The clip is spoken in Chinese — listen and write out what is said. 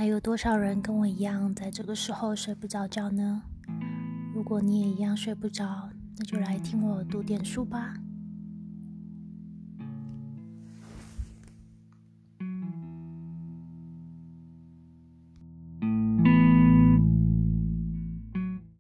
还有多少人跟我一样在这个时候睡不着觉呢？如果你也一样睡不着，那就来听我读点书吧。